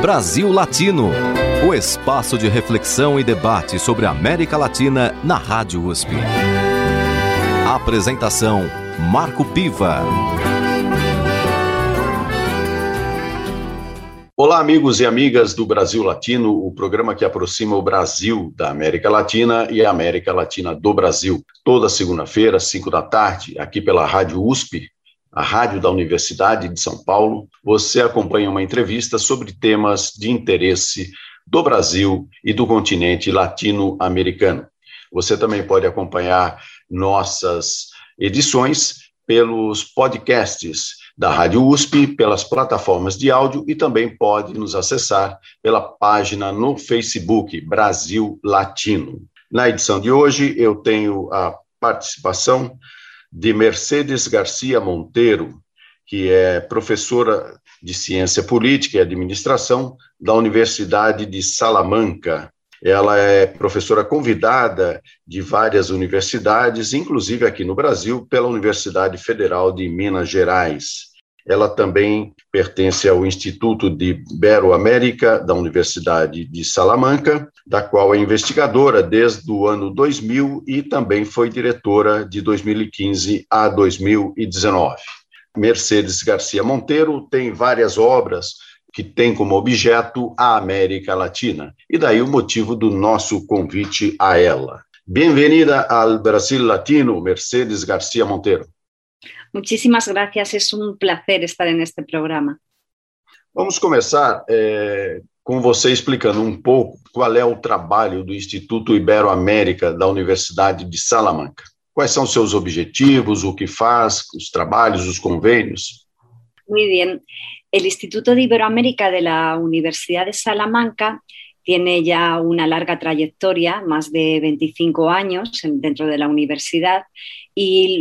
Brasil Latino, o espaço de reflexão e debate sobre a América Latina na Rádio USP. Apresentação: Marco Piva. Olá, amigos e amigas do Brasil Latino, o programa que aproxima o Brasil da América Latina e a América Latina do Brasil. Toda segunda-feira, às 5 da tarde, aqui pela Rádio USP, a rádio da Universidade de São Paulo, você acompanha uma entrevista sobre temas de interesse do Brasil e do continente latino-americano. Você também pode acompanhar nossas edições pelos podcasts da Rádio USP, pelas plataformas de áudio e também pode nos acessar pela página no Facebook Brasil Latino. Na edição de hoje eu tenho a participação de Mercedes Garcia Monteiro, que é professora de Ciência Política e Administração da Universidade de Salamanca. Ela é professora convidada de várias universidades, inclusive aqui no Brasil, pela Universidade Federal de Minas Gerais. Ela também pertence ao Instituto de Ibero-América da Universidade de Salamanca, da qual é investigadora desde o ano 2000 e também foi diretora de 2015 a 2019. Mercedes Garcia Monteiro tem várias obras que têm como objeto a América Latina, e daí o motivo do nosso convite a ela. Bem-vinda ao Brasil Latino, Mercedes Garcia Monteiro. Muchísimas gracias, es un placer estar en este programa. Vamos começar com você explicando um pouco qual é o trabalho do Instituto Ibero-América da Universidade de Salamanca. Quais são os seus objetivos, o que faz, os trabalhos, os convênios? Muy bien. El Instituto de Iberoamérica de la Universidad de Salamanca tiene ya una larga trayectoria, más de 25 años dentro de la universidad, y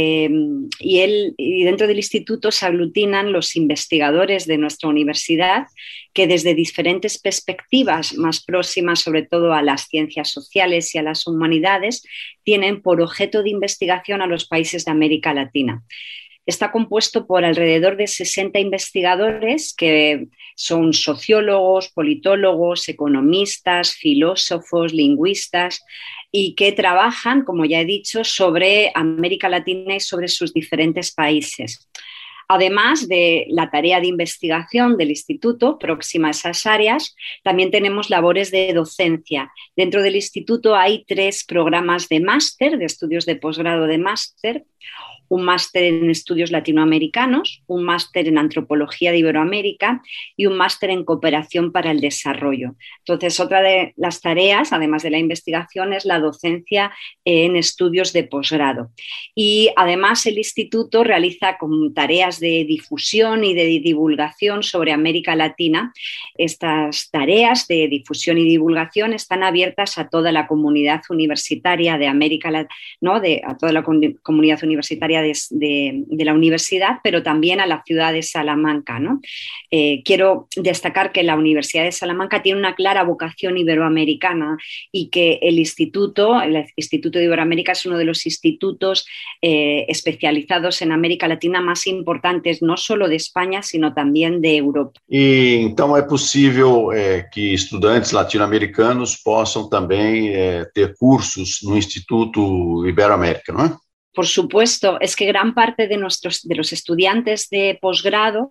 dentro del instituto se aglutinan los investigadores de nuestra universidad que desde diferentes perspectivas más próximas, sobre todo a las ciencias sociales y a las humanidades, tienen por objeto de investigación a los países de América Latina. Está compuesto por alrededor de 60 investigadores que son sociólogos, politólogos, economistas, filósofos, lingüistas y que trabajan, como ya he dicho, sobre América Latina y sobre sus diferentes países. Además de la tarea de investigación del instituto próxima a esas áreas, también tenemos labores de docencia. Dentro del instituto hay 3 programas de máster, de estudios de posgrado de máster, un máster en estudios latinoamericanos, un máster en antropología de Iberoamérica y un máster en cooperación para el desarrollo. Entonces, otra de las tareas, además de la investigación, es la docencia en estudios de posgrado. Y además el instituto realiza como tareas de difusión y de divulgación sobre América Latina. Estas tareas de difusión y divulgación están abiertas a toda la comunidad universitaria de América Latina, ¿no? A toda la comunidad universitaria de la universidad, pero también a la ciudad de Salamanca, ¿no? Quiero destacar que la Universidad de Salamanca tiene una clara vocación iberoamericana y que el Instituto de Iberoamérica es uno de los institutos especializados en América Latina más importantes, no solo de España, sino también de Europa. E então é possível que estudantes latino-americanos possam também ter cursos no Instituto Ibero-América, não é? Por supuesto, es que gran parte de los estudiantes de posgrado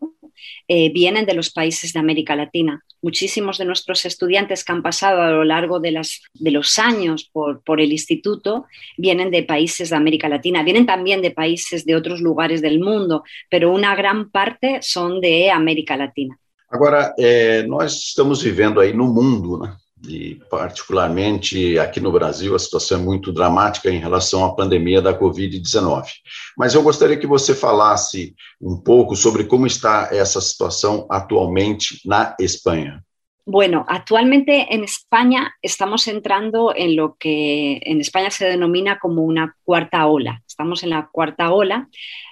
vienen de los países de América Latina. Muchísimos de nuestros estudiantes que han pasado a lo largo de los años por el instituto vienen de países de América Latina, vienen también de países de otros lugares del mundo, pero una gran parte son de América Latina. Agora, nós estamos vivendo aí no mundo, né? E particularmente aqui no Brasil a situação é muito dramática em relação à pandemia da Covid-19. Mas eu gostaria que você falasse um pouco sobre como está essa situação atualmente na Espanha. Bueno, actualmente en España estamos entrando en lo que en España se denomina como una cuarta ola. Estamos en la cuarta ola.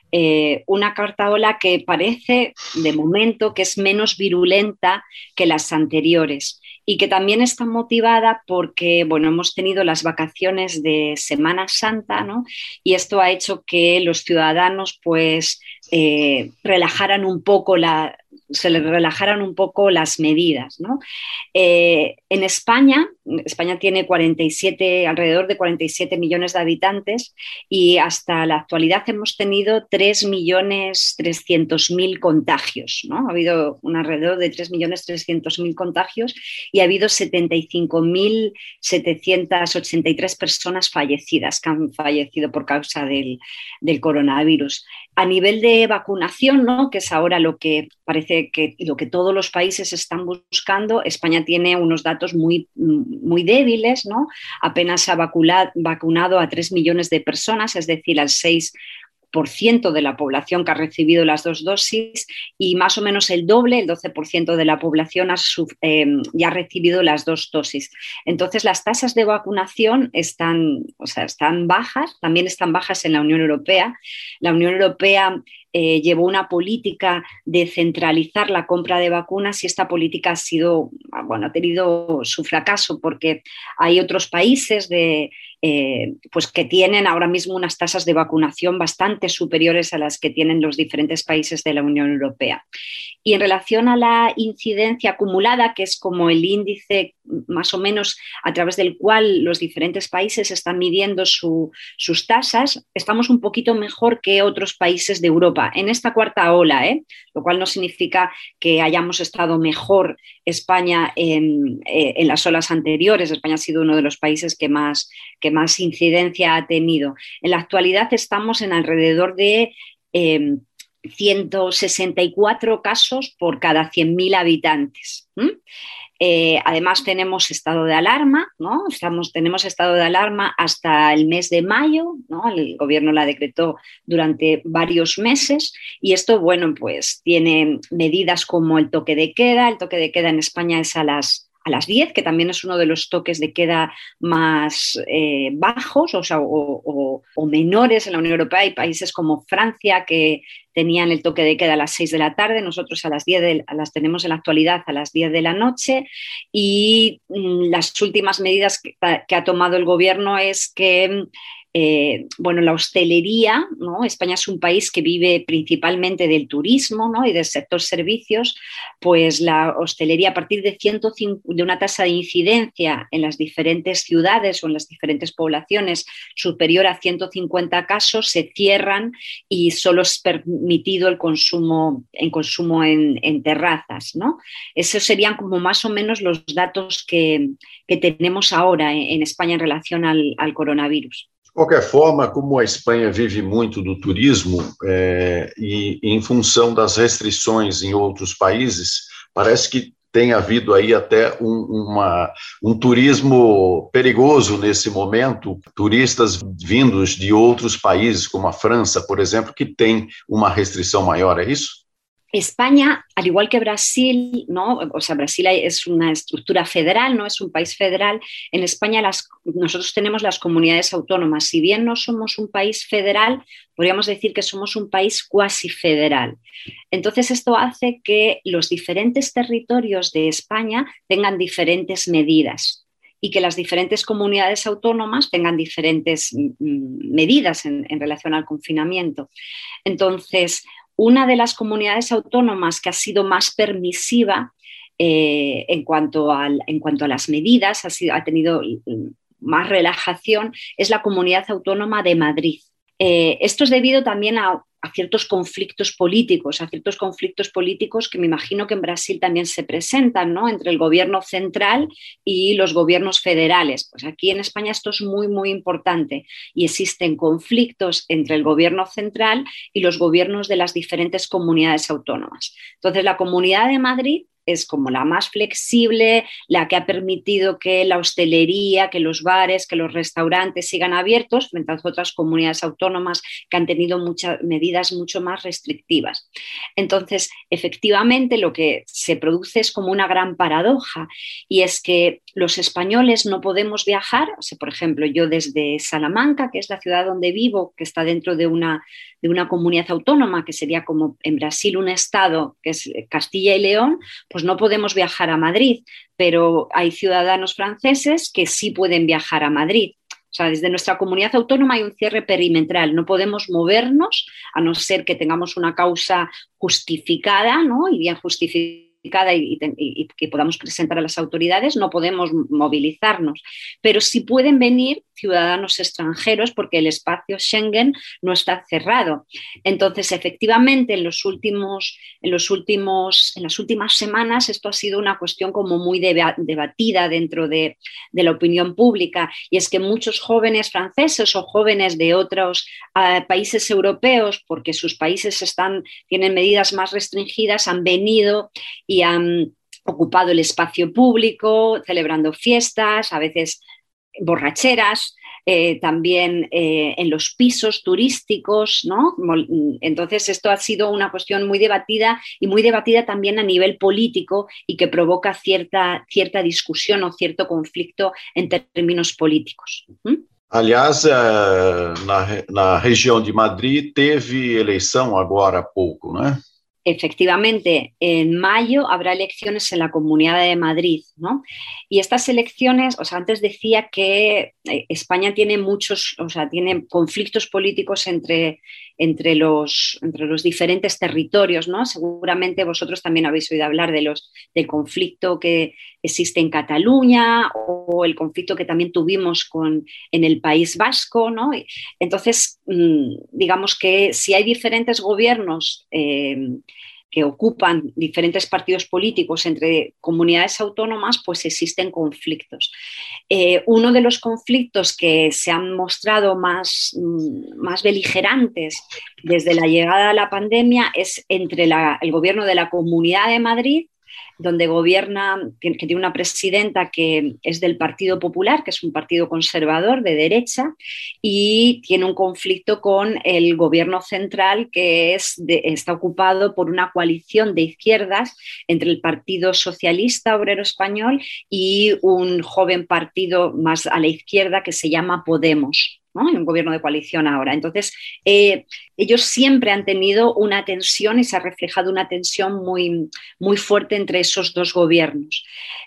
Una cuarta ola que parece de momento que es menos virulenta que las anteriores y que también está motivada porque, bueno, hemos tenido las vacaciones de Semana Santa, ¿no? Y esto ha hecho que los ciudadanos pues relajaran un poco se les relajaran un poco las medidas, ¿no? En España tiene alrededor de 47 millones de habitantes y hasta la actualidad hemos tenido 3.300.000 contagios, ¿no? Ha habido alrededor de 3.300.000 contagios y ha habido 75.783 personas fallecidas que han fallecido por causa del coronavirus. A nivel de vacunación, ¿no? Que es ahora lo que parece que lo que todos los países están buscando, España tiene unos datos muy, muy débiles, ¿no? Apenas ha vacunado a 3 millones de personas, es decir, al 6% de la población que ha recibido las 2 dosis y más o menos el doble, el 12% de la población ya ha recibido las 2 dosis. Entonces, las tasas de vacunación están bajas, también están bajas en la Unión Europea. La Unión Europea llevó una política de centralizar la compra de vacunas y esta política ha tenido su fracaso porque hay otros países pues que tienen ahora mismo unas tasas de vacunación bastante superiores a las que tienen los diferentes países de la Unión Europea. Y en relación a la incidencia acumulada, que es como el índice más o menos a través del cual los diferentes países están midiendo sus tasas, estamos un poquito mejor que otros países de Europa en esta cuarta ola, lo cual no significa que hayamos estado mejor España en las olas anteriores. España ha sido uno de los países que más incidencia ha tenido. En la actualidad estamos en alrededor de 164 casos por cada 100.000 habitantes. Además tenemos estado de alarma, ¿no? Tenemos estado de alarma hasta el mes de mayo, ¿no? El gobierno la decretó durante varios meses y esto, bueno, pues tiene medidas como el toque de queda. El toque de queda en España es a las 10, que también es uno de los toques de queda más bajos, o menores en la Unión Europea. Hay países como Francia que tenían el toque de queda a las 6 de la tarde, nosotros las tenemos en la actualidad a las 10 de la noche y las últimas medidas que ha tomado el gobierno es que la hostelería, ¿no? España es un país que vive principalmente del turismo, ¿no? Y del sector servicios, pues la hostelería a partir de una tasa de incidencia en las diferentes ciudades o en las diferentes poblaciones superior a 150 casos se cierran y solo es permitido el consumo en terrazas, ¿no? Esos serían como más o menos los datos que tenemos ahora en España en relación al coronavirus. De qualquer forma, como a Espanha vive muito do turismo e em função das restrições em outros países, parece que tem havido aí até um turismo perigoso nesse momento, turistas vindos de outros países, como a França, por exemplo, que tem uma restrição maior, é isso? España, al igual que Brasil, ¿no? O sea, Brasil es una estructura federal, no es un país federal. En España nosotros tenemos las comunidades autónomas. Si bien no somos un país federal, podríamos decir que somos un país cuasi federal. Entonces, esto hace que los diferentes territorios de España tengan diferentes medidas y que las diferentes comunidades autónomas tengan diferentes medidas en relación al confinamiento. Entonces, una de las comunidades autónomas que ha sido más permisiva en cuanto a las medidas, ha tenido más relajación, es la Comunidad Autónoma de Madrid. Esto es debido también a ciertos conflictos políticos, que me imagino que en Brasil también se presentan, ¿no? Entre el gobierno central y los gobiernos federales. Pues aquí en España esto es muy, muy importante y existen conflictos entre el gobierno central y los gobiernos de las diferentes comunidades autónomas. Entonces, la Comunidad de Madrid es como la más flexible, la que ha permitido que la hostelería, que los bares, que los restaurantes sigan abiertos, frente a otras comunidades autónomas que han tenido muchas medidas mucho más restrictivas. Entonces, efectivamente, lo que se produce es como una gran paradoja y es que los españoles no podemos viajar. O sea, por ejemplo, yo desde Salamanca, que es la ciudad donde vivo, que está dentro de una comunidad autónoma, que sería como en Brasil un estado, que es Castilla y León, pues no podemos viajar a Madrid, pero hay ciudadanos franceses que sí pueden viajar a Madrid. O sea, desde nuestra comunidad autónoma hay un cierre perimetral. No podemos movernos a no ser que tengamos una causa justificada, ¿no? Y bien justificada y que podamos presentar a las autoridades, no podemos movilizarnos. Pero sí pueden venir ciudadanos extranjeros porque el espacio Schengen no está cerrado. Entonces, efectivamente, en las últimas semanas esto ha sido una cuestión como muy debatida dentro de la opinión pública, y es que muchos jóvenes franceses o jóvenes de otros países europeos, porque sus países tienen medidas más restringidas, han venido y han ocupado el espacio público, celebrando fiestas, a veces borracheras, también en los pisos turísticos, ¿no? Entonces esto ha sido una cuestión muy debatida y muy debatida también a nivel político y que provoca cierta discusión o cierto conflicto en términos políticos. Aliás, na região de Madrid teve eleição agora há pouco, não é? Efectivamente, en mayo habrá elecciones en la Comunidad de Madrid, ¿no? Y estas elecciones, o sea, antes decía que España tiene tiene conflictos políticos entre los diferentes territorios, ¿no? Seguramente vosotros también habéis oído hablar del conflicto que existe en Cataluña o el conflicto que también tuvimos en el País Vasco, ¿no? Entonces, digamos que si hay diferentes gobiernos que ocupan diferentes partidos políticos entre comunidades autónomas, pues existen conflictos. Uno de los conflictos que se han mostrado más beligerantes desde la llegada de la pandemia es entre el gobierno de la Comunidad de Madrid, donde gobierna, que tiene una presidenta que es del Partido Popular, que es un partido conservador de derecha, y tiene un conflicto con el gobierno central, que está ocupado por una coalición de izquierdas entre el Partido Socialista Obrero Español y un joven partido más a la izquierda que se llama Podemos, ¿no? En un gobierno de coalición ahora. Entonces, ellos siempre han tenido una tensión y se ha reflejado una tensión muy, muy fuerte entre esos dos gobiernos.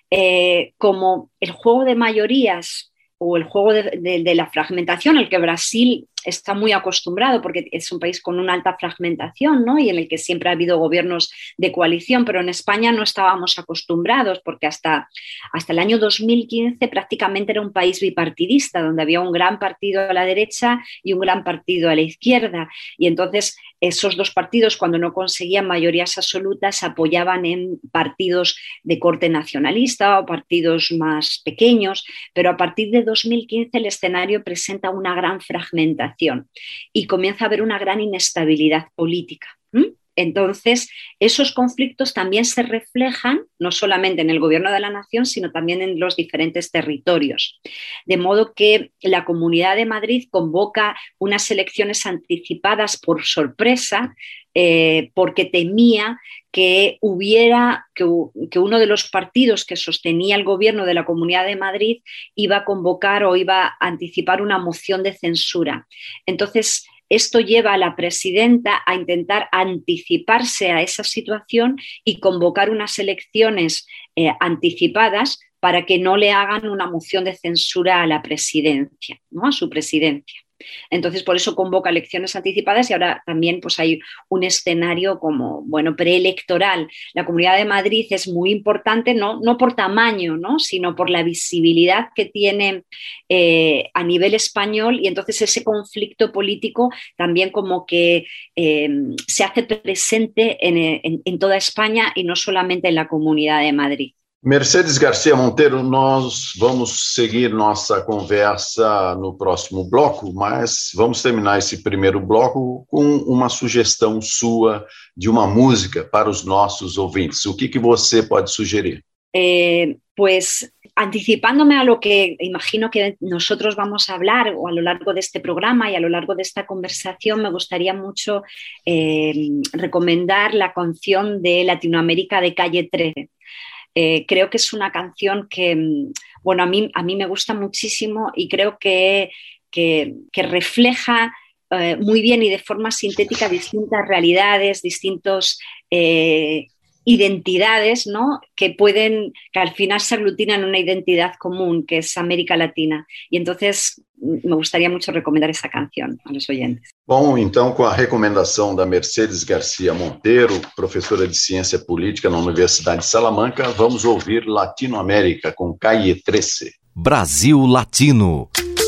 Como el juego de mayorías o el juego de la fragmentación, al que Brasil está muy acostumbrado porque es un país con una alta fragmentación, ¿no? Y en el que siempre ha habido gobiernos de coalición, pero en España no estábamos acostumbrados porque hasta el año 2015 prácticamente era un país bipartidista, donde había un gran partido a la derecha y un gran partido a la izquierda, y entonces esos dos partidos, cuando no conseguían mayorías absolutas, apoyaban en partidos de corte nacionalista o partidos más pequeños, pero a partir de 2015 el escenario presenta una gran fragmentación y comienza a haber una gran inestabilidad política. Entonces, esos conflictos también se reflejan no solamente en el gobierno de la nación, sino también en los diferentes territorios. De modo que la Comunidad de Madrid convoca unas elecciones anticipadas por sorpresa, porque temía que uno de los partidos que sostenía el gobierno de la Comunidad de Madrid iba a convocar o iba a anticipar una moción de censura. Entonces, esto lleva a la presidenta a intentar anticiparse a esa situación y convocar unas elecciones anticipadas para que no le hagan una moción de censura a la presidencia, ¿no? A su presidencia. Entonces, por eso convoca elecciones anticipadas y ahora también pues, hay un escenario como, bueno, preelectoral. La Comunidad de Madrid es muy importante, no por tamaño, ¿no? Sino por la visibilidad que tiene a nivel español, y entonces ese conflicto político también como que se hace presente en toda España y no solamente en la Comunidad de Madrid. Mercedes Garcia Monteiro, nós vamos seguir nossa conversa no próximo bloco, mas vamos terminar esse primeiro bloco com uma sugestão sua de uma música para os nossos ouvintes. O que você pode sugerir? Pues anticipándome a lo que imagino que nosotros vamos a hablar o a lo largo de este programa y a lo largo de esta conversación, me gustaría mucho recomendar la canción de Latinoamérica de Calle 13. Creo que es una canción que, bueno, a mí me gusta muchísimo y creo que refleja muy bien y de forma sintética distintas realidades, distintos identidades, ¿no? que al final se aglutinan en una identidad común, que es América Latina. Y entonces me gustaría mucho recomendar esa canción a los oyentes. Bom, então, com a recomendação da Mercedes Garcia Monteiro, professora de Ciência Política na Universidade de Salamanca, vamos ouvir Latinoamérica com Calle 13. Brasil Latino.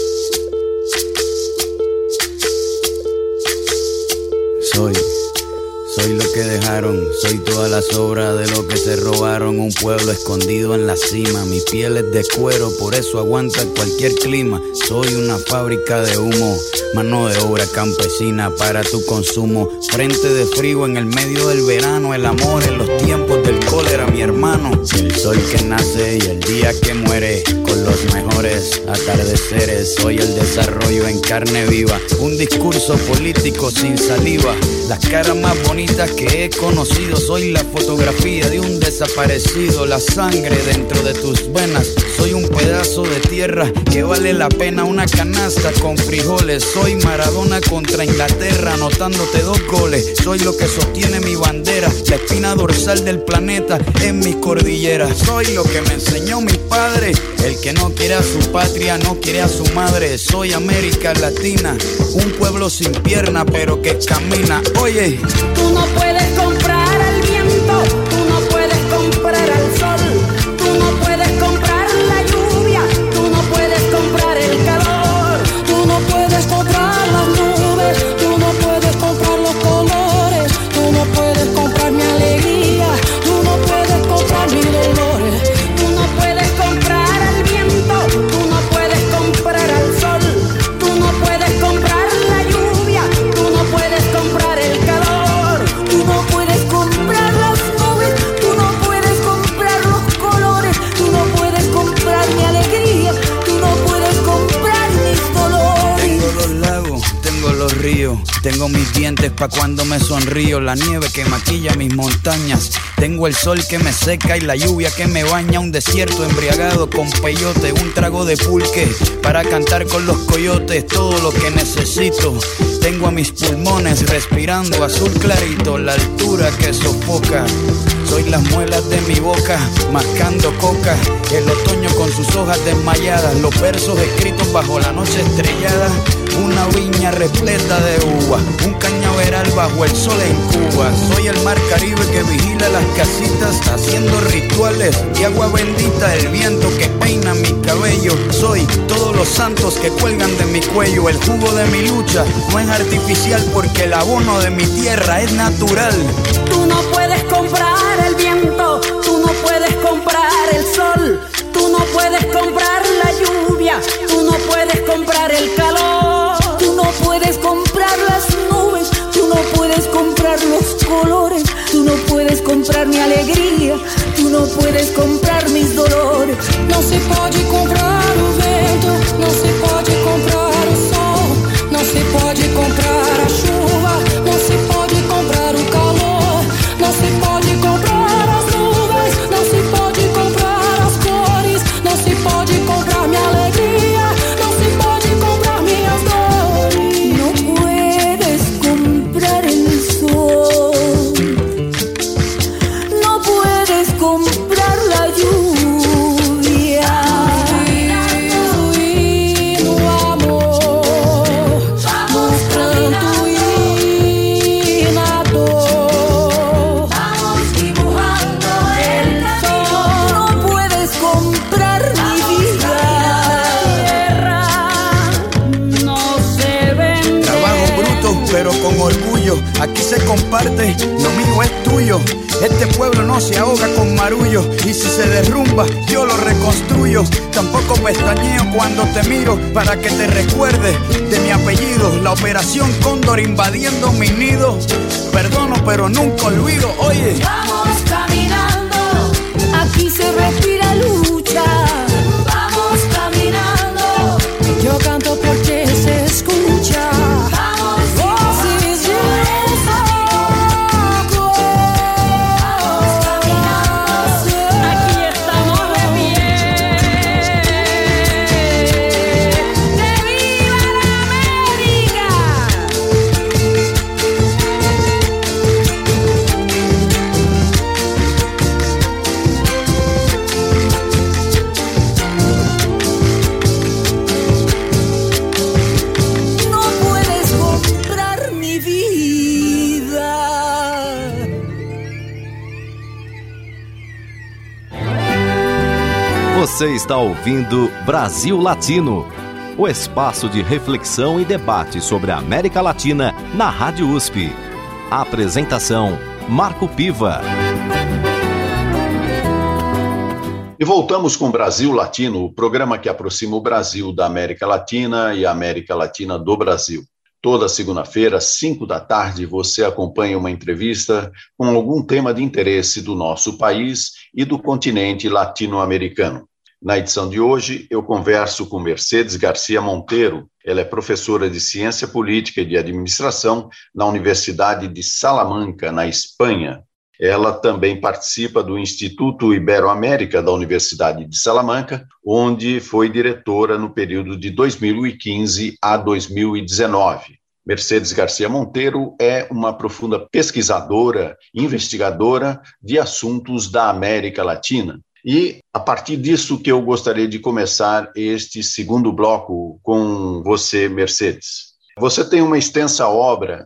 Soy lo que dejaron, soy todas las obras de lo que se robaron. Un pueblo escondido en la cima, mi piel es de cuero, por eso aguanta cualquier clima. Soy una fábrica de humo, mano de obra campesina para tu consumo. Frente de frío en el medio del verano, el amor en los tiempos del cólera, mi hermano. El sol que nace y el día que muere, con los mejores atardeceres. Soy el desarrollo en carne viva, un discurso político sin saliva. Las caras más bonitas que he conocido, soy la fotografía de un desaparecido. La sangre dentro de tus venas, soy un pedazo de tierra que vale la pena una canasta con frijoles. Soy Maradona contra Inglaterra, anotándote 2 goles. Soy lo que sostiene mi bandera, la espina dorsal del planeta en mis cordilleras. Soy lo que me enseñó mi padre, el que no quiere a su patria, no quiere a su madre. Soy América Latina, un pueblo sin pierna pero que camina. Oye, tú no puedes comprar al viento, tú no puedes comprar al sol, tú no puedes comprar la lluvia, tú no puedes comprar el calor, tú no puedes comprar las nubes, tú no puedes comprar los colores, tú no puedes comprar mi alegría, tú no puedes comprar mis dolores, tú no puedes comprar al viento, tú no puedes comprar al sol, tú no puedes comprar la lluvia, tú no puedes comprar el calor, tú no puedes comprar las nubes, tú no puedes comprar los colores, tú no puedes comprar mi alegría, tú no puedes comprar mis dolores. tengo los lagos, tengo los ríos, tengo mis dientes pa' cuando me sonrío, la nieve que maquilla mis montañas, tengo el sol que me seca y la lluvia que me baña, un desierto embriagado con peyote, un trago de pulque para cantar con los coyotes, todo lo que necesito. Tengo a mis pulmones respirando azul clarito, la altura que sofoca. Soy las muelas de mi boca, mascando coca. El otoño con sus hojas desmayadas, los versos escritos bajo la noche estrellada. Una viña repleta de uva, un cañaveral bajo el sol en Cuba. Soy el mar Caribe que vigila las casitas, haciendo rituales de agua bendita. El viento que peina mi cabello. Soy todos los santos que cuelgan de mi cuello. El jugo de mi lucha no es artificial, porque el abono de mi tierra es natural. Tú no puedes comprar el viento, tú no puedes comprar el sol, tú no puedes comprar la lluvia, tú no puedes comprar el calor, tú no puedes comprar las nubes, tú no puedes comprar los colores, tú no puedes comprar mi alegría, tú no puedes comprar mis dolores. No se pode comprar o vento, no se pode comprar o sol, no se pode comprar a chuva, no se pode comprar o calor, no se pode comprar as nuvens, não se pode comprar as cores, não se pode comprar minha alegria, não se pode comprar minhas dores. No puedes comprar el sol, no puedes comprar la lluvia. Y no amor, no pranto y na dor. Vamos dibujando el sol. No puedes comprar mi vida. No se vende. Trabajo bruto pero con orgullo, aquí se comparte, lo mío es tuyo. Este pueblo no se ahoga con marullo, y si se derrumba yo lo reconstruyo. Tampoco pestañeo cuando te miro para que te recuerdes de mi apellido. La operación Cóndor invadiendo mi nido, perdono pero nunca olvido. Oye, Vamos caminando, aquí se respira lucha. Vamos caminando, yo canto porque se escucha. Vamos voces de desahogo. Vamos caminando, aquí estamos de pie. ¡Que viva la América! Você está ouvindo Brasil Latino, o espaço de reflexão e debate sobre a América Latina na Rádio USP. A apresentação, Marco Piva. E voltamos com Brasil Latino, o programa que aproxima o Brasil da América Latina e a América Latina do Brasil. Toda segunda-feira, às 5 da tarde, você acompanha uma entrevista com algum tema de interesse do nosso país e do continente latino-americano. Na edição de hoje, eu converso com Mercedes Garcia Monteiro. Ela é professora de Ciência Política e de Administração na Universidade de Salamanca, na Espanha. Ela também participa do Instituto Ibero-América da Universidade de Salamanca, onde foi diretora no período de 2015 a 2019. Mercedes Garcia Monteiro é uma profunda pesquisadora, investigadora de assuntos da América Latina. E, a partir disso que eu gostaria de começar este segundo bloco com você, Mercedes. Você tem uma extensa obra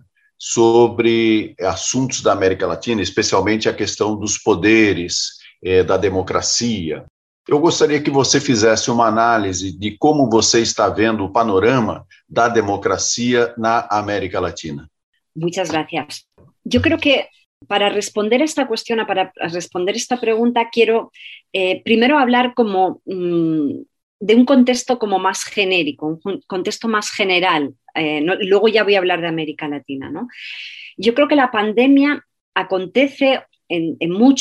sobre assuntos da América Latina, especialmente a questão dos poderes, da democracia. Eu gostaria que você fizesse uma análise de como você está vendo o panorama da democracia na América Latina. Muchas gracias. Yo creo que para responder esta cuestión, para responder esta pregunta, quiero primero hablar como de un contexto como más genérico, un contexto más general. Luego ya voy a hablar de América Latina, ¿no? Yo creo que la pandemia acontece en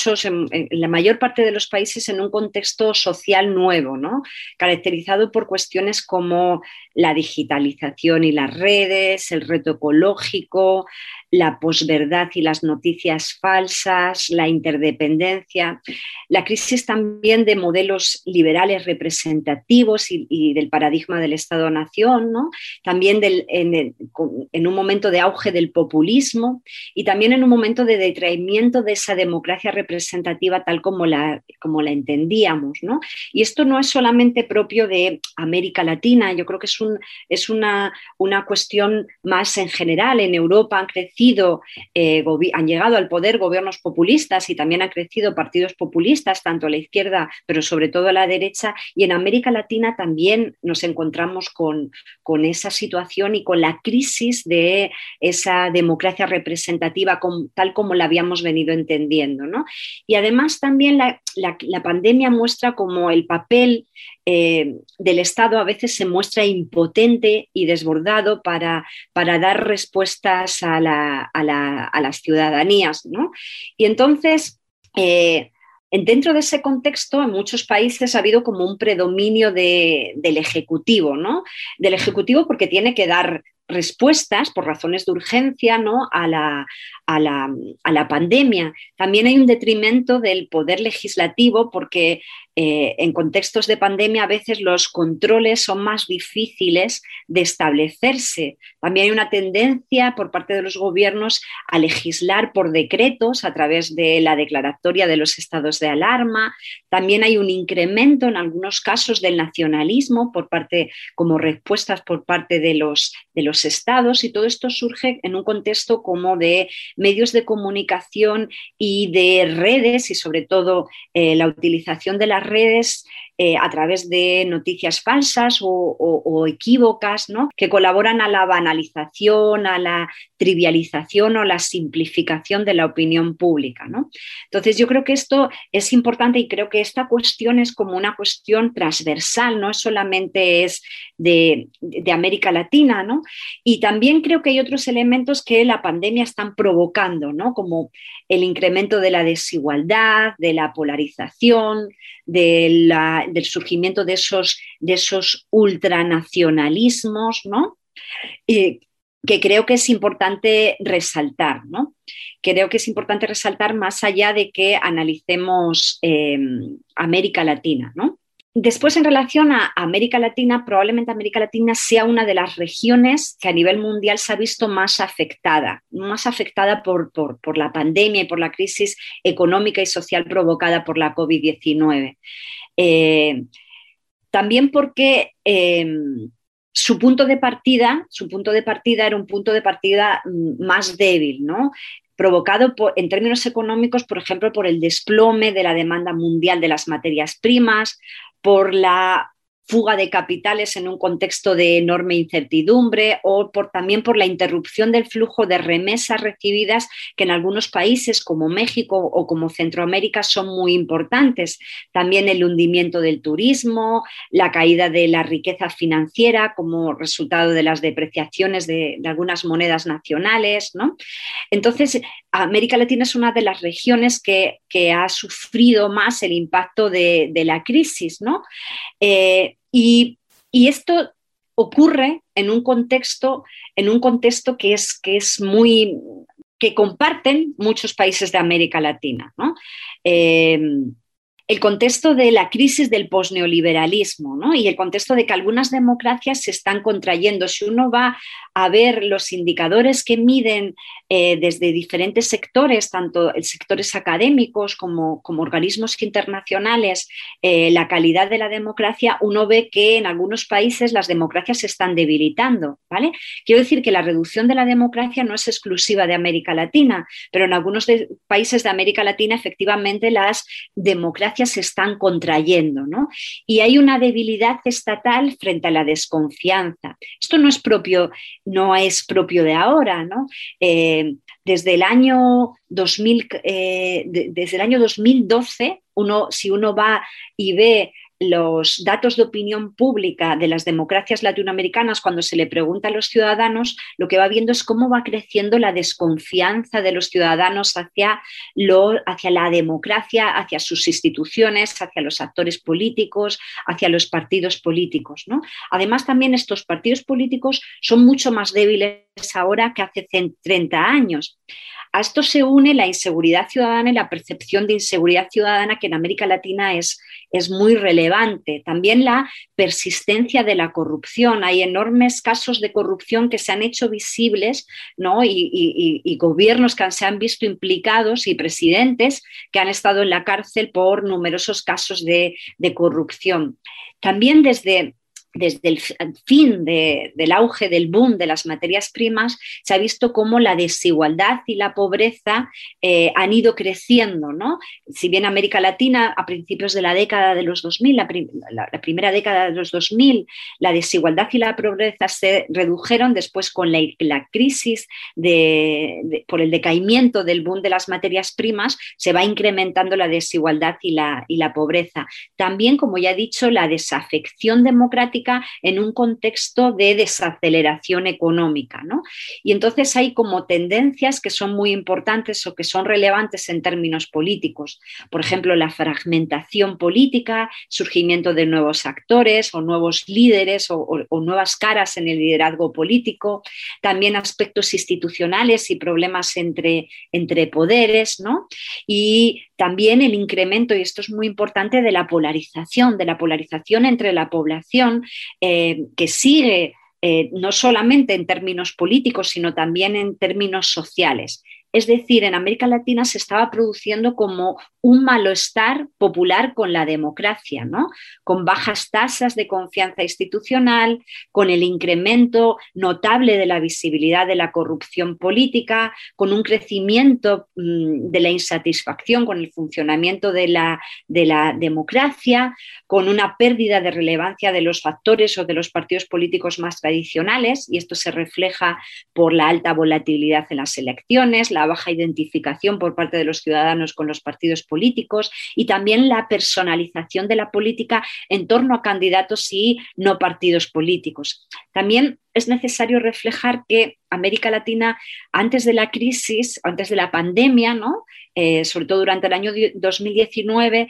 la mayor parte de los países en un contexto social nuevo, ¿no? Caracterizado por cuestiones como la digitalización y las redes, el reto ecológico, la posverdad y las noticias falsas, la interdependencia, la crisis también de modelos liberales representativos y del paradigma del Estado-Nación, ¿no? También en un momento de auge del populismo y también en un momento de detraimiento de esa democracia representativa tal como la entendíamos, ¿no? Y esto no es solamente propio de América Latina, yo creo que es una cuestión más en general. En Europa han llegado al poder gobiernos populistas y también han crecido partidos populistas, tanto a la izquierda, pero sobre todo a la derecha, y en América Latina también nos encontramos con esa situación y con la crisis de esa democracia representativa tal como la habíamos venido entendiendo, ¿no? Y además también la pandemia muestra como el papel del Estado a veces se muestra impotente y desbordado para dar respuestas a las ciudadanías, ¿no? Y entonces, dentro de ese contexto, en muchos países ha habido como un predominio del Ejecutivo, ¿no? Del Ejecutivo porque tiene que dar respuestas por razones de urgencia, ¿no? a la pandemia. También hay un detrimento del poder legislativo porque en contextos de pandemia a veces los controles son más difíciles de establecerse. También hay una tendencia por parte de los gobiernos a legislar por decretos a través de la declaratoria de los estados de alarma. También hay un incremento en algunos casos del nacionalismo como respuestas por parte de los estados, y todo esto surge en un contexto como de medios de comunicación y de redes, y sobre todo la utilización de las redes a través de noticias falsas o equívocas, ¿no? Que colaboran a la banalización, a la trivialización o la simplificación de la opinión pública, ¿no? Entonces yo creo que esto es importante y creo que esta cuestión es como una cuestión transversal, no solamente es de América Latina, ¿no? Y también creo que hay otros elementos que la pandemia están provocando, ¿no? Como el incremento de la desigualdad, de la polarización, del surgimiento de esos ultranacionalismos, ¿no? Que creo que es importante resaltar, ¿no? Creo que es importante resaltar más allá de que analicemos América Latina, ¿no? Después, en relación a América Latina, probablemente América Latina sea una de las regiones que a nivel mundial se ha visto más afectada por la pandemia y por la crisis económica y social provocada por la COVID-19. También porque su punto de partida era un punto de partida más débil, ¿no? Provocado en términos económicos, por ejemplo, por el desplome de la demanda mundial de las materias primas, por la fuga de capitales en un contexto de enorme incertidumbre o también por la interrupción del flujo de remesas recibidas que en algunos países como México o como Centroamérica son muy importantes. También el hundimiento del turismo, la caída de la riqueza financiera como resultado de las depreciaciones de algunas monedas nacionales, ¿no? Entonces, América Latina es una de las regiones que ha sufrido más el impacto de la crisis, ¿no? Y esto ocurre en un contexto que comparten muchos países de América Latina, ¿no? El contexto de la crisis del posneoliberalismo, ¿no? Y el contexto de que algunas democracias se están contrayendo. Si uno va a ver los indicadores que miden desde diferentes sectores, tanto sectores académicos como organismos internacionales, la calidad de la democracia, uno ve que en algunos países las democracias se están debilitando, ¿vale? Quiero decir que la reducción de la democracia no es exclusiva de América Latina, pero en algunos países de América Latina efectivamente las democracias se están contrayendo, ¿no? Y hay una debilidad estatal frente a la desconfianza. Esto no es propio de ahora, ¿no? Desde el año 2012, si uno va y ve los datos de opinión pública de las democracias latinoamericanas, cuando se le pregunta a los ciudadanos, lo que va viendo es cómo va creciendo la desconfianza de los ciudadanos hacia la democracia, hacia sus instituciones, hacia los actores políticos, hacia los partidos políticos, ¿no? Además, también estos partidos políticos son mucho más débiles ahora que hace 30 años. A esto se une la inseguridad ciudadana y la percepción de inseguridad ciudadana, que en América Latina es muy relevante. También la persistencia de la corrupción. Hay enormes casos de corrupción que se han hecho visibles, ¿no? Y gobiernos que se han visto implicados y presidentes que han estado en la cárcel por numerosos casos de corrupción. También desde el fin del auge del boom de las materias primas, se ha visto cómo la desigualdad y la pobreza han ido creciendo, ¿no? Si bien América Latina, a principios de la década de los 2000, la primera década de los 2000, la desigualdad y la pobreza se redujeron. Después, con la crisis por el decaimiento del boom de las materias primas, se va incrementando la desigualdad y la pobreza. También, como ya he dicho, la desafección democrática en un contexto de desaceleración económica, ¿no? Y entonces hay como tendencias que son muy importantes o que son relevantes en términos políticos. Por ejemplo, la fragmentación política, surgimiento de nuevos actores o nuevos líderes o nuevas caras en el liderazgo político. También aspectos institucionales y problemas entre poderes, ¿no? Y también el incremento, y esto es muy importante, de la polarización entre la población, que sigue no solamente en términos políticos, sino también en términos sociales. Es decir, en América Latina se estaba produciendo como un malestar popular con la democracia, ¿no? Con bajas tasas de confianza institucional, con el incremento notable de la visibilidad de la corrupción política, con un crecimiento de la insatisfacción con el funcionamiento de la democracia, con una pérdida de relevancia de los factores o de los partidos políticos más tradicionales, y esto se refleja por la alta volatilidad en las elecciones, la baja identificación por parte de los ciudadanos con los partidos políticos y también la personalización de la política en torno a candidatos y no partidos políticos. También es necesario reflejar que América Latina, antes de la crisis, antes de la pandemia, ¿no? Sobre todo durante el año 2019,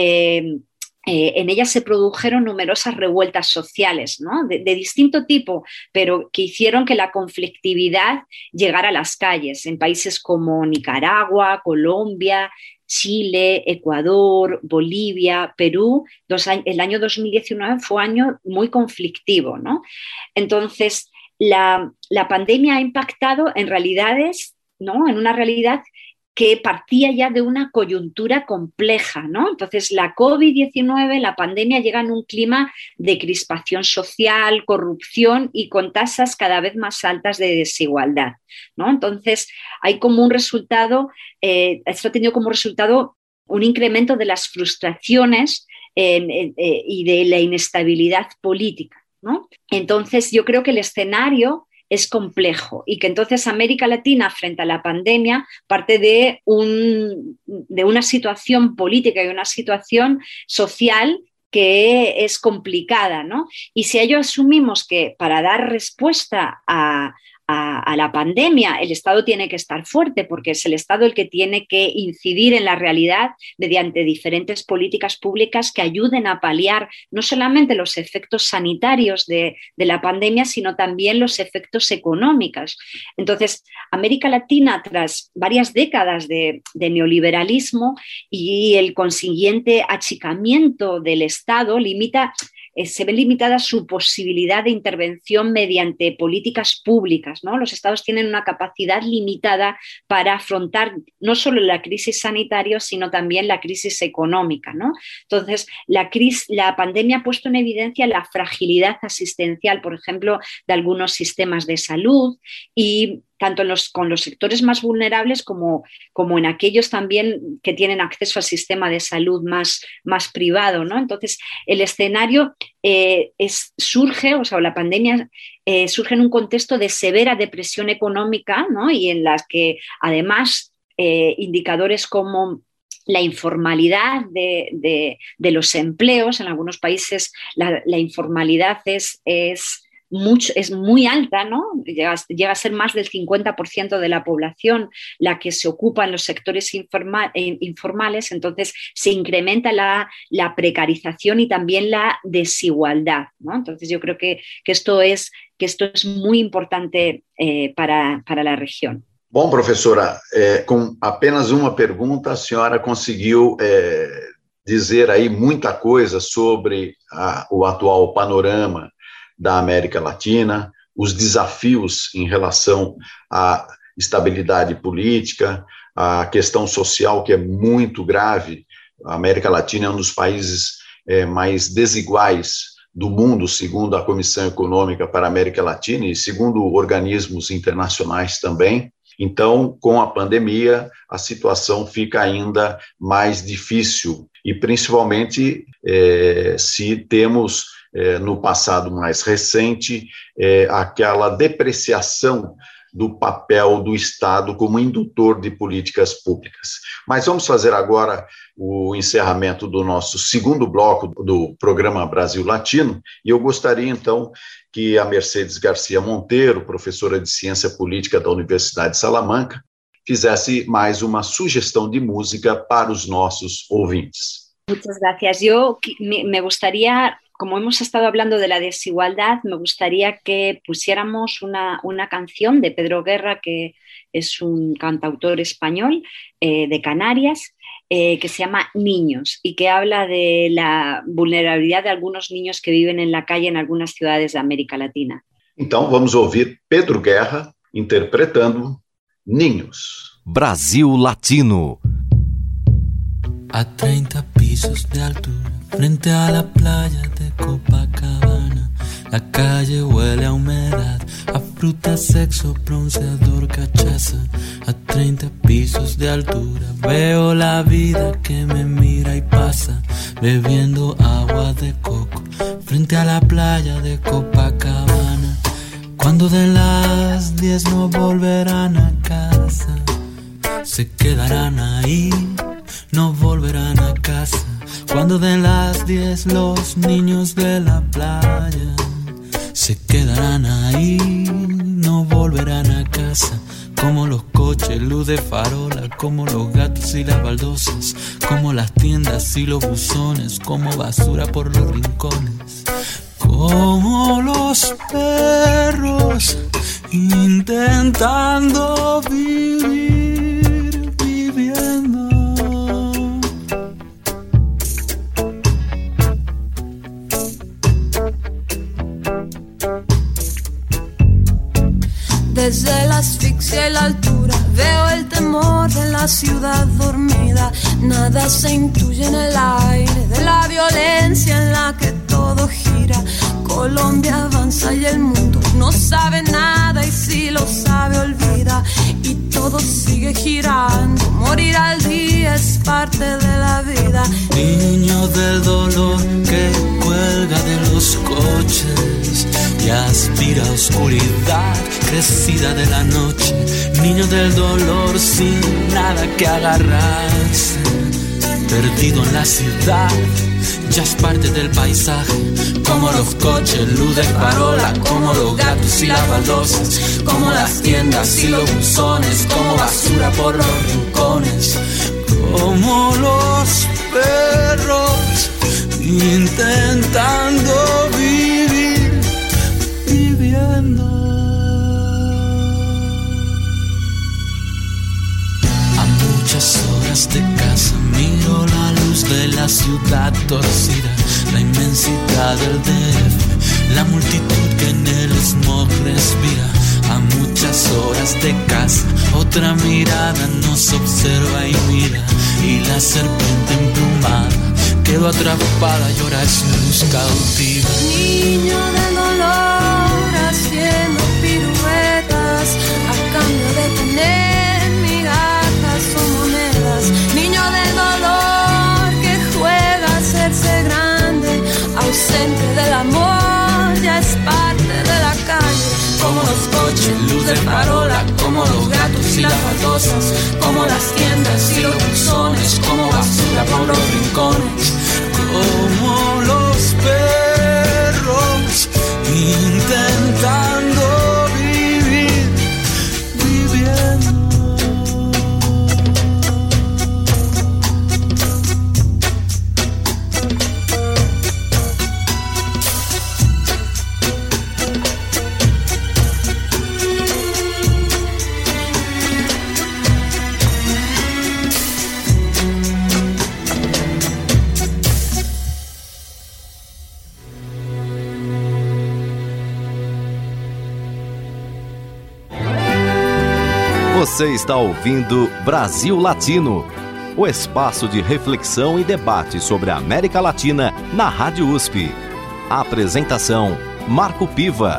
en ella se produjeron numerosas revueltas sociales, ¿no? de distinto tipo, pero que hicieron que la conflictividad llegara a las calles en países como Nicaragua, Colombia, Chile, Ecuador, Bolivia, Perú. El año 2019 fue un año muy conflictivo, ¿no? Entonces, la pandemia ha impactado en realidades, ¿no? En una realidad que partía ya de una coyuntura compleja, ¿no? Entonces, la COVID-19, la pandemia, llega en un clima de crispación social, corrupción y con tasas cada vez más altas de desigualdad, ¿no? Entonces, hay como un resultado, esto ha tenido como resultado un incremento de las frustraciones y de la inestabilidad política, ¿no? Entonces, yo creo que el escenario es complejo y que entonces América Latina frente a la pandemia parte de una situación política y una situación social que es complicada, ¿no? Y si ello asumimos que para dar respuesta a la pandemia el Estado tiene que estar fuerte, porque es el Estado el que tiene que incidir en la realidad mediante diferentes políticas públicas que ayuden a paliar no solamente los efectos sanitarios de la pandemia, sino también los efectos económicos. Entonces, América Latina, tras varias décadas de neoliberalismo y el consiguiente achicamiento del Estado, se ve limitada su posibilidad de intervención mediante políticas públicas, ¿no? Los estados tienen una capacidad limitada para afrontar no solo la crisis sanitaria, sino también la crisis económica, ¿no? Entonces, la pandemia ha puesto en evidencia la fragilidad asistencial, por ejemplo, de algunos sistemas de salud, y tanto con los sectores más vulnerables como en aquellos también que tienen acceso al sistema de salud más privado, ¿no? Entonces, el escenario la pandemia surge en un contexto de severa depresión económica, ¿no? Y en las que además indicadores como la informalidad de los empleos, en algunos países la informalidad es muy alta, ¿no? Llega a ser más del 50% de la población la que se ocupa en los sectores informales, entonces se incrementa la precarización y también la desigualdad, ¿no? Entonces yo creo que esto es muy importante para la región. Bom, professora, com apenas uma pergunta, a senhora conseguiu dizer aí muita coisa sobre o atual panorama da América Latina, os desafios em relação à estabilidade política, a questão social, que é muito grave. A América Latina é um dos países mais desiguais do mundo, segundo a Comissão Econômica para a América Latina e segundo organismos internacionais também. Então, com a pandemia, a situação fica ainda mais difícil, e principalmente se temos no passado mais recente aquela depreciação do papel do Estado como indutor de políticas públicas. Mas vamos fazer agora o encerramento do nosso segundo bloco do programa Brasil Latino, e eu gostaria então que a Mercedes Garcia Monteiro, professora de Ciência Política da Universidade de Salamanca, fizesse mais uma sugestão de música para os nossos ouvintes. Muchas gracias. Yo me gustaría, como hemos estado hablando de la desigualdad, me gustaría que pusiéramos una canción de Pedro Guerra, que es un cantautor español de Canarias, que se llama Niños y que habla de la vulnerabilidad de algunos niños que viven en la calle en algunas ciudades de América Latina. Então vamos ouvir Pedro Guerra interpretando Niños. Brasil Latino. A 30 pisos de altura, frente a la playa de Copacabana, la calle huele a humedad, a fruta, sexo, bronceador, cachaza. A 30 pisos de altura, veo la vida que me mira y pasa, bebiendo agua de coco, frente a la playa de Copacabana. Cuando de las 10 no volverán a casa, se quedarán ahí, no volverán a casa. Cuando den las 10 los niños de la playa se quedarán ahí, no volverán a casa. Como los coches, luz de farola, como los gatos y las baldosas, como las tiendas y los buzones, como basura por los rincones, como los perros intentando vivir, viviendo. Desde la asfixia y la altura veo el temor de la ciudad dormida. Nada se intuye en el aire de la violencia en la que todo gira. Colombia avanza y el mundo no sabe nada, y si lo sabe olvida. Y todo sigue girando, morir al día es parte de la vida. Niños de del dolor que cuelga de los coches y aspira a oscuridad crecida de la noche. Niño del dolor sin nada que agarrarse, perdido en la ciudad, ya es parte del paisaje. Como los coches, luz de farola, como los gatos y las baldosas, como las tiendas y los buzones, como basura por los rincones, como los perros intentando vivir, viviendo. A muchas horas de casa miro la luz de la ciudad torcida, la inmensidad del DF, la multitud que en el smog respira. A muchas horas de casa otra mirada nos observa y mira, y la serpiente emplumada quedó atrapada, llora su luz cautiva. Niño del dolor haciendo piruetas a cambio de tener migajas o monedas. Niño del dolor que juega a hacerse grande, ausente del amor, ya es parte de la calle. Como los coches, luz de farola, como los gatos y las baldosas, como las tiendas y los buzones, como basura por los rincones, como los perros intentando vivir, viviendo. Você está ouvindo Brasil Latino, o espaço de reflexão e debate sobre a América Latina na Rádio USP. A apresentação, Marco Piva.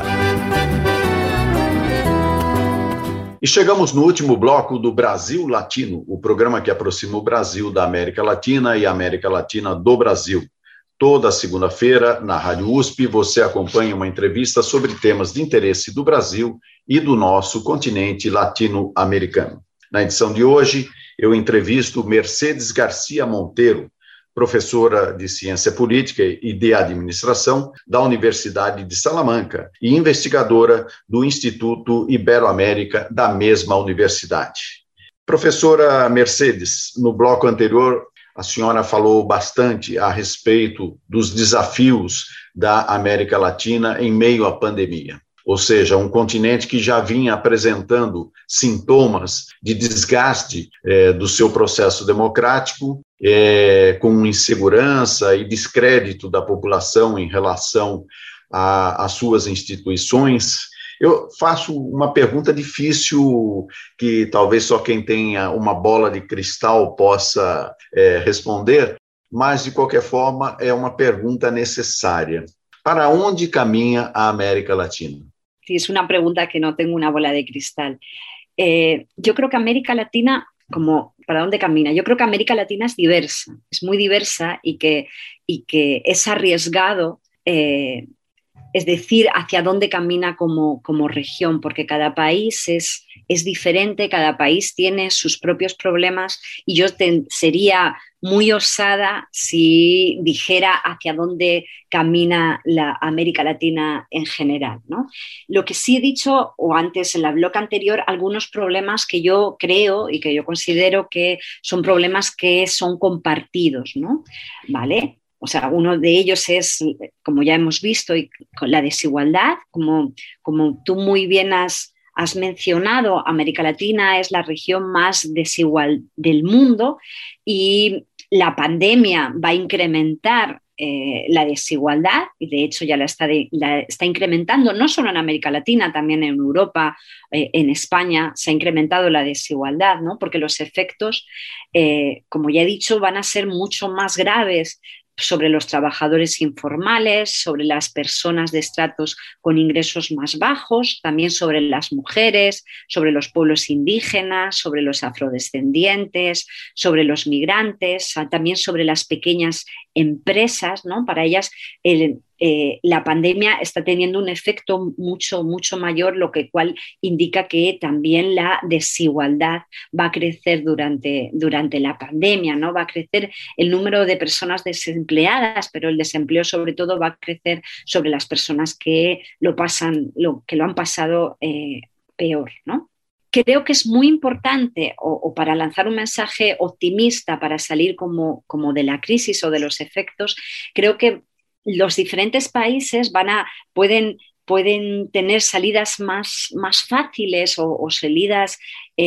E chegamos no último bloco do Brasil Latino, o programa que aproxima o Brasil da América Latina e a América Latina do Brasil. Toda segunda-feira, na Rádio USP, você acompanha uma entrevista sobre temas de interesse do Brasil e do nosso continente latino-americano. Na edição de hoje, eu entrevisto Mercedes Garcia Monteiro, professora de Ciência Política e de Administração da Universidade de Salamanca e investigadora do Instituto Ibero-América da mesma universidade. Professora Mercedes, no bloco anterior, a senhora falou bastante a respeito dos desafios da América Latina em meio à pandemia. Ou seja, um continente que já vinha apresentando sintomas de desgaste do seu processo democrático, com insegurança e descrédito da população em relação às suas instituições. Eu faço uma pergunta difícil que talvez só quem tenha uma bola de cristal possa responder, mas, de qualquer forma, é uma pergunta necessária. ¿Para dónde camina a América Latina? Sí, es una pregunta que no tengo una bola de cristal. Yo creo que América Latina, ¿para dónde camina? Yo creo que América Latina es diversa, es muy diversa y que es arriesgado, es decir, hacia dónde camina como región, porque cada país es diferente, cada país tiene sus propios problemas y yo sería muy osada si dijera hacia dónde camina la América Latina en general, ¿no? Lo que sí he dicho, o antes en la bloque anterior, algunos problemas que yo creo y que yo considero que son problemas que son compartidos, ¿no? ¿Vale? O sea, uno de ellos es, como ya hemos visto, la desigualdad, como tú muy bien has mencionado, América Latina es la región más desigual del mundo y la pandemia va a incrementar la desigualdad y de hecho ya la está incrementando, no solo en América Latina, también en Europa, en España se ha incrementado la desigualdad, ¿no? Porque los efectos, como ya he dicho, van a ser mucho más graves sobre los trabajadores informales, sobre las personas de estratos con ingresos más bajos, también sobre las mujeres, sobre los pueblos indígenas, sobre los afrodescendientes, sobre los migrantes, también sobre las pequeñas empresas, ¿no? Para ellas la pandemia está teniendo un efecto mucho, mucho mayor, lo que cual indica que también la desigualdad va a crecer durante la pandemia, ¿no? Va a crecer el número de personas desempleadas, pero el desempleo sobre todo va a crecer sobre las personas que lo han pasado peor, ¿no? Creo que es muy importante, o para lanzar un mensaje optimista para salir como de la crisis o de los efectos, creo que los diferentes países pueden tener salidas más fáciles o salidas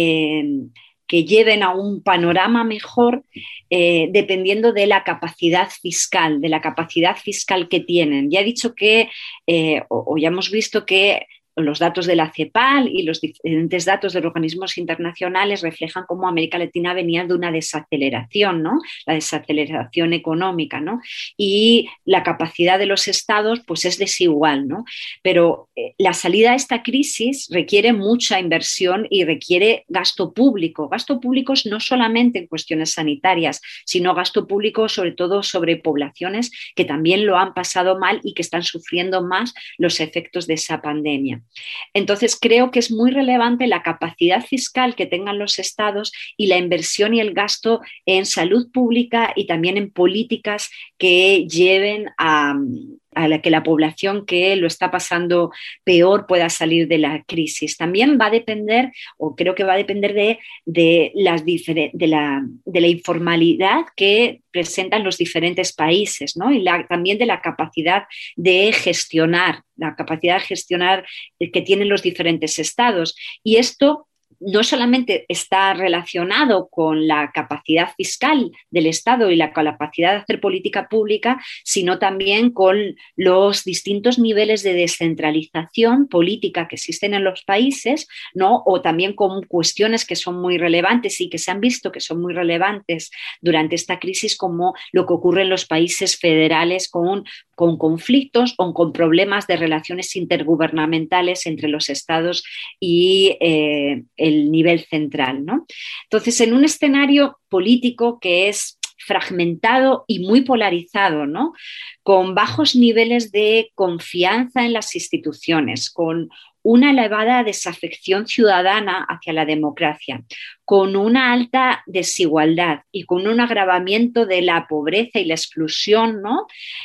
que lleven a un panorama mejor dependiendo de la capacidad fiscal, que tienen. Ya he dicho que, o ya hemos visto que los datos de la CEPAL y los diferentes datos de los organismos internacionales reflejan cómo América Latina venía de una desaceleración, ¿no? La desaceleración económica, ¿no? Y la capacidad de los estados pues es desigual, ¿no? Pero la salida a esta crisis requiere mucha inversión y requiere gasto público no solamente en cuestiones sanitarias, sino gasto público sobre todo sobre poblaciones que también lo han pasado mal y que están sufriendo más los efectos de esa pandemia. Entonces, creo que es muy relevante la capacidad fiscal que tengan los estados y la inversión y el gasto en salud pública y también en políticas que lleven a que la población que lo está pasando peor pueda salir de la crisis. También va a depender, o creo que va a depender de la informalidad que presentan los diferentes países, ¿no? Y también de la capacidad de gestionar que tienen los diferentes estados. Y esto no solamente está relacionado con la capacidad fiscal del Estado y la capacidad de hacer política pública, sino también con los distintos niveles de descentralización política que existen en los países, ¿no? O también con cuestiones que son muy relevantes y que se han visto que son muy relevantes durante esta crisis, como lo que ocurre en los países federales con conflictos o con problemas de relaciones intergubernamentales entre los estados y el nivel central, ¿no? Entonces, en un escenario político que es fragmentado y muy polarizado, ¿no? Con bajos niveles de confianza en las instituciones, con una elevada desafección ciudadana hacia la democracia, con una alta desigualdad y con un agravamiento de la pobreza y la exclusión, ¿no?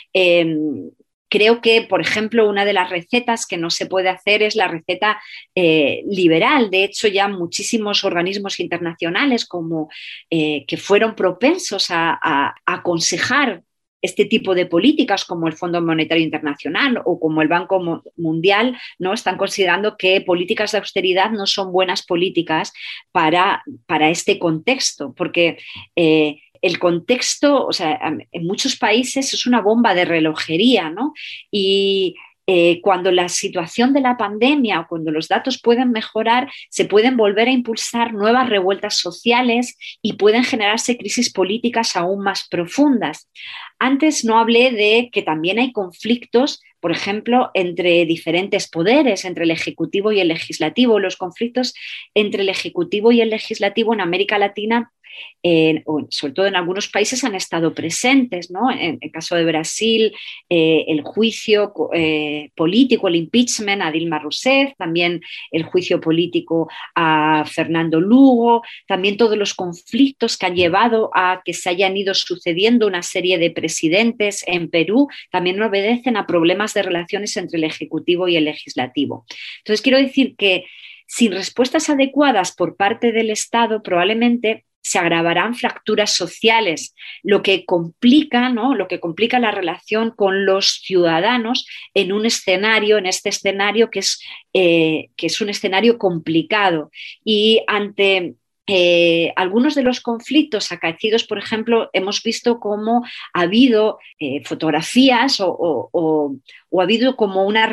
Creo que, por ejemplo, una de las recetas que no se puede hacer es la receta liberal. De hecho, ya muchísimos organismos internacionales que fueron propensos a aconsejar este tipo de políticas, como el Fondo Monetario Internacional o como el Banco Mundial, ¿no? Están considerando que políticas de austeridad no son buenas políticas para este contexto, porque el contexto, o sea, en muchos países es una bomba de relojería, ¿no? Y cuando la situación de la pandemia o cuando los datos pueden mejorar, se pueden volver a impulsar nuevas revueltas sociales y pueden generarse crisis políticas aún más profundas. Antes no hablé de que también hay conflictos, por ejemplo, entre diferentes poderes, entre el Ejecutivo y el Legislativo. Los conflictos entre el Ejecutivo y el Legislativo en América Latina, sobre todo en algunos países, han estado presentes, ¿no? En el caso de Brasil, el juicio político, el impeachment a Dilma Rousseff, también el juicio político a Fernando Lugo, también todos los conflictos que han llevado a que se hayan ido sucediendo una serie de presidentes en Perú, también obedecen a problemas de relaciones entre el Ejecutivo y el Legislativo. Entonces, quiero decir que sin respuestas adecuadas por parte del Estado, probablemente se agravarán fracturas sociales, lo que complica, ¿no? Lo que complica la relación con los ciudadanos en este escenario que es un escenario complicado. Y ante algunos de los conflictos acaecidos, por ejemplo, hemos visto cómo ha habido fotografías o ha habido como una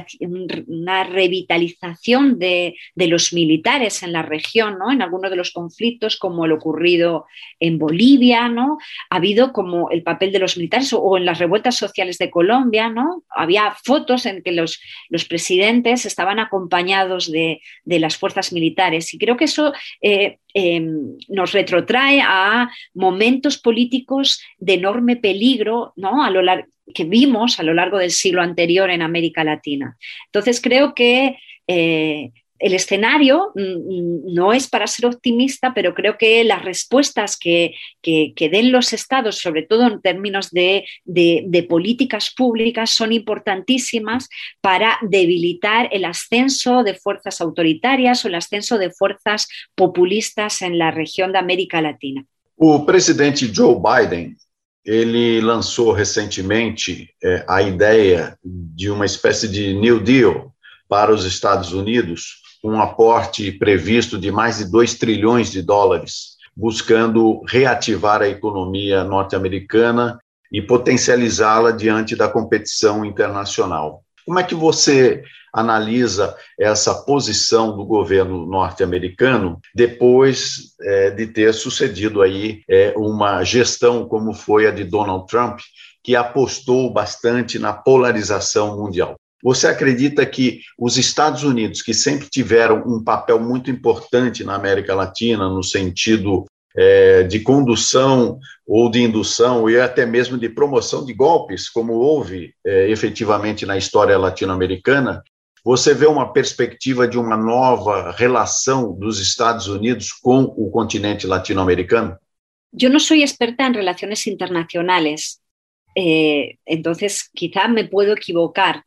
revitalización de los militares en la región, ¿no? En algunos de los conflictos, como lo ocurrido en Bolivia, ¿no? Ha habido como el papel de los militares o en las revueltas sociales de Colombia, ¿no? Había fotos en que los presidentes estaban acompañados de las fuerzas militares, y creo que eso nos retrotrae a momentos políticos de enorme peligro, ¿no? Que vimos a lo largo del siglo anterior en América Latina. Entonces creo que el escenario no es para ser optimista, pero creo que las respuestas que den los estados, sobre todo en términos de políticas públicas, son importantísimas para debilitar el ascenso de fuerzas autoritarias o el ascenso de fuerzas populistas en la región de América Latina. O presidente Joe Biden, ele lançou recentemente a ideia de uma espécie de New Deal para os Estados Unidos, um aporte previsto de mais de 2 trilhões de dólares, buscando reativar a economia norte-americana e potencializá-la diante da competição internacional. Como é que você analisa essa posição do governo norte-americano depois de ter sucedido aí uma gestão como foi a de Donald Trump, que apostou bastante na polarização mundial? Você acredita que os Estados Unidos, que sempre tiveram um papel muito importante na América Latina, no sentido de condução ou de indução e até mesmo de promoção de golpes, como houve efetivamente na história latino-americana, você vê uma perspectiva de uma nova relação dos Estados Unidos com o continente latino-americano? Yo no soy experta en relaciones internacionales, entonces quizá me puedo equivocar.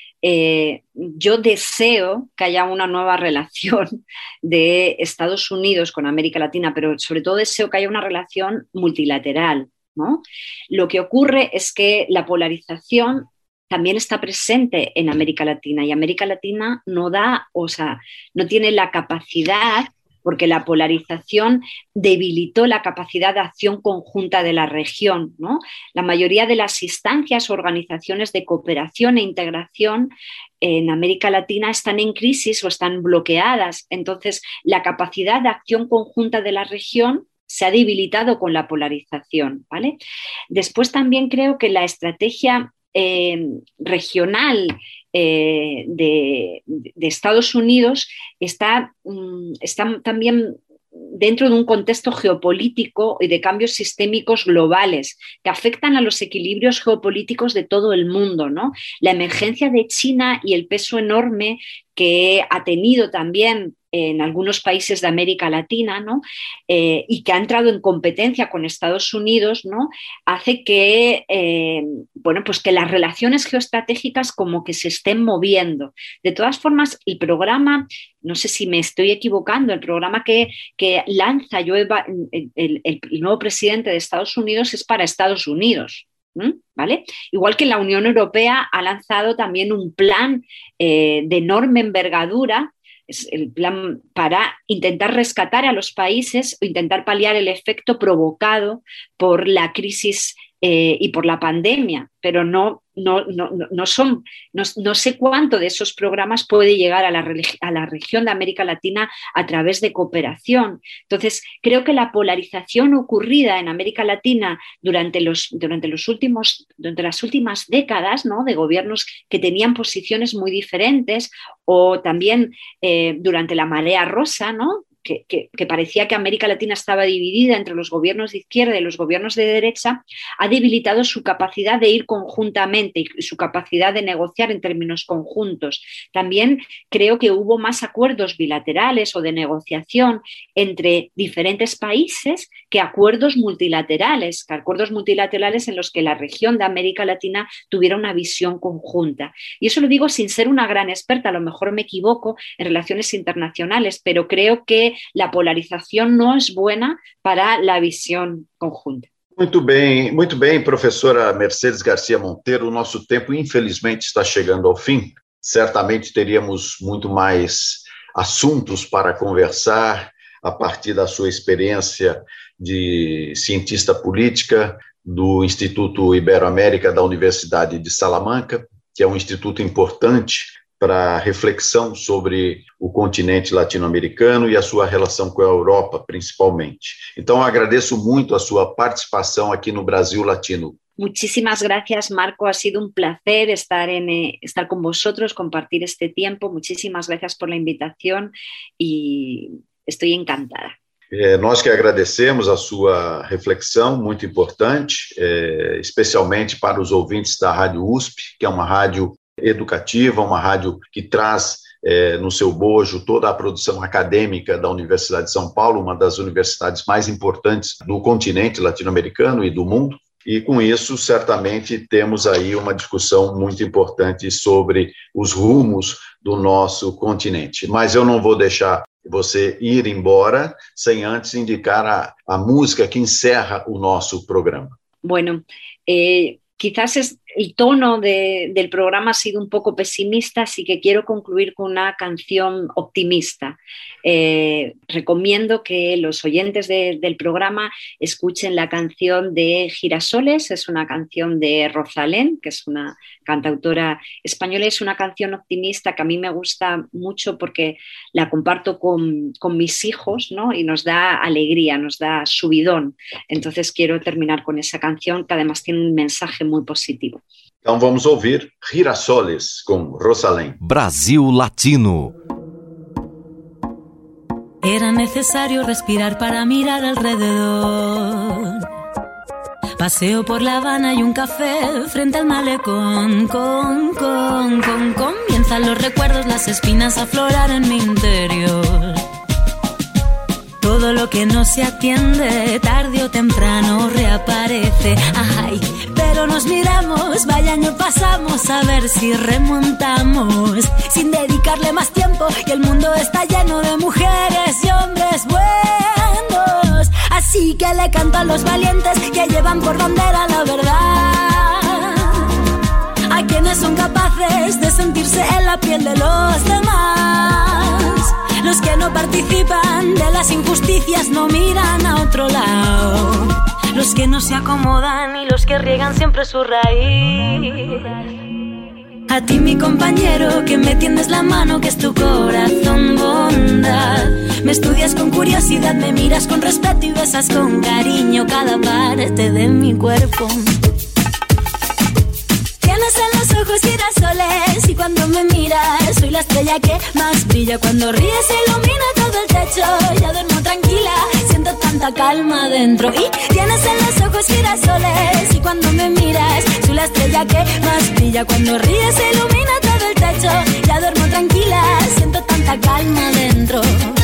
Yo deseo que haya una nueva relación de Estados Unidos con América Latina, pero sobre todo deseo que haya una relación multilateral, ¿no? Lo que ocurre es que la polarización también está presente en América Latina y América Latina no tiene la capacidad, porque la polarización debilitó la capacidad de acción conjunta de la región, ¿no? La mayoría de las instancias o organizaciones de cooperación e integración en América Latina están en crisis o están bloqueadas. Entonces, la capacidad de acción conjunta de la región se ha debilitado con la polarización, ¿vale? Después también creo que la estrategia regional de Estados Unidos está también dentro de un contexto geopolítico y de cambios sistémicos globales que afectan a los equilibrios geopolíticos de todo el mundo, ¿no? La emergencia de China y el peso enorme que ha tenido también en algunos países de América Latina, ¿no? Y que ha entrado en competencia con Estados Unidos, ¿no? Hace que, pues que las relaciones geoestratégicas como que se estén moviendo. De todas formas, el programa, no sé si me estoy equivocando, el programa que lanza el nuevo presidente de Estados Unidos es para Estados Unidos, ¿vale? Igual que la Unión Europea ha lanzado también un plan de enorme envergadura, es el plan para intentar rescatar a los países o intentar paliar el efecto provocado por la crisis y por la pandemia, pero no sé cuánto de esos programas puede llegar a la región de América Latina a través de cooperación. Entonces, creo que la polarización ocurrida en América Latina durante las últimas décadas, ¿no? De gobiernos que tenían posiciones muy diferentes, o también durante la marea rosa, ¿no? Que parecía que América Latina estaba dividida entre los gobiernos de izquierda y los gobiernos de derecha, ha debilitado su capacidad de ir conjuntamente y su capacidad de negociar en términos conjuntos. También creo que hubo más acuerdos bilaterales o de negociación entre diferentes países que acuerdos multilaterales en los que la región de América Latina tuviera una visión conjunta. Y eso lo digo sin ser una gran experta, a lo mejor me equivoco en relaciones internacionales, pero creo que la polarización no es buena para la visión conjunta. Muito bem, professora Mercedes Garcia Monteiro. O nosso tempo, infelizmente, está chegando ao fim. Certamente teríamos muito mais assuntos para conversar a partir da sua experiência de cientista política do Instituto Ibero-América da Universidade de Salamanca, que é um instituto importante para reflexão sobre o continente latino-americano e a sua relação com a Europa, principalmente. Então, agradeço muito a sua participação aqui no Brasil Latino. Muchísimas gracias, Marco. Ha sido un placer estar con vosotros, compartir este tiempo. Muchísimas gracias por la invitación y estoy encantada. Nós que agradecemos a sua reflexão, muito importante, especialmente para os ouvintes da Rádio USP, que é uma rádio educativa, uma rádio que traz no seu bojo toda a produção acadêmica da Universidade de São Paulo, uma das universidades mais importantes do continente latino-americano e do mundo. E com isso, certamente, temos aí uma discussão muito importante sobre os rumos do nosso continente. Mas eu não vou deixar você ir embora sem antes indicar a música que encerra o nosso programa. Bueno, quizás el tono del programa ha sido un poco pesimista, así que quiero concluir con una canción optimista. Recomiendo que los oyentes del programa escuchen la canción de Girasoles, es una canción de Rosalén, que es una cantautora española, es una canción optimista que a mí me gusta mucho porque la comparto con mis hijos, ¿no? Y nos da alegría, nos da subidón. Entonces quiero terminar con esa canción que además tiene un mensaje muy positivo. Então vamos ouvir Girasoles com Rosalén. Brasil Latino. Era necesario respirar para mirar alrededor. Paseo por La Habana y un café frente al malecón. Comienzan los recuerdos, las espinas a aflorar en mi interior. Todo lo que no se atiende, tarde o temprano reaparece. Ay, pero nos miramos, vaya año pasamos, a ver si remontamos. Sin dedicarle más tiempo, y el mundo está lleno de mujeres y hombres buenos. Así que le canto a los valientes que llevan por bandera la verdad. A quienes son capaces de sentirse en la piel de los demás. Los que no participan de las injusticias no miran a otro lado. Los que no se acomodan y los que riegan siempre su raíz. A ti mi compañero que me tiendes la mano, que es tu corazón bondad. Me estudias con curiosidad, me miras con respeto y besas con cariño cada parte de mi cuerpo. Tienes en los ojos girasoles y cuando me miras soy la estrella que más brilla. Cuando ríes se ilumina todo el techo, ya duermo tranquila, siento tanta calma dentro. Y tienes en los ojos girasoles y cuando me miras soy la estrella que más brilla. Cuando ríes se ilumina todo el techo, ya duermo tranquila, siento tanta calma dentro.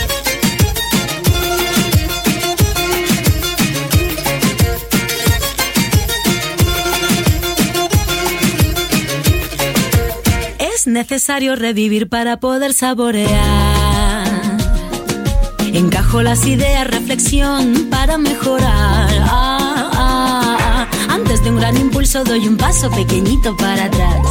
Es necesario revivir para poder saborear. Encajo las ideas, reflexión para mejorar. Antes de un gran impulso doy un paso pequeñito para atrás.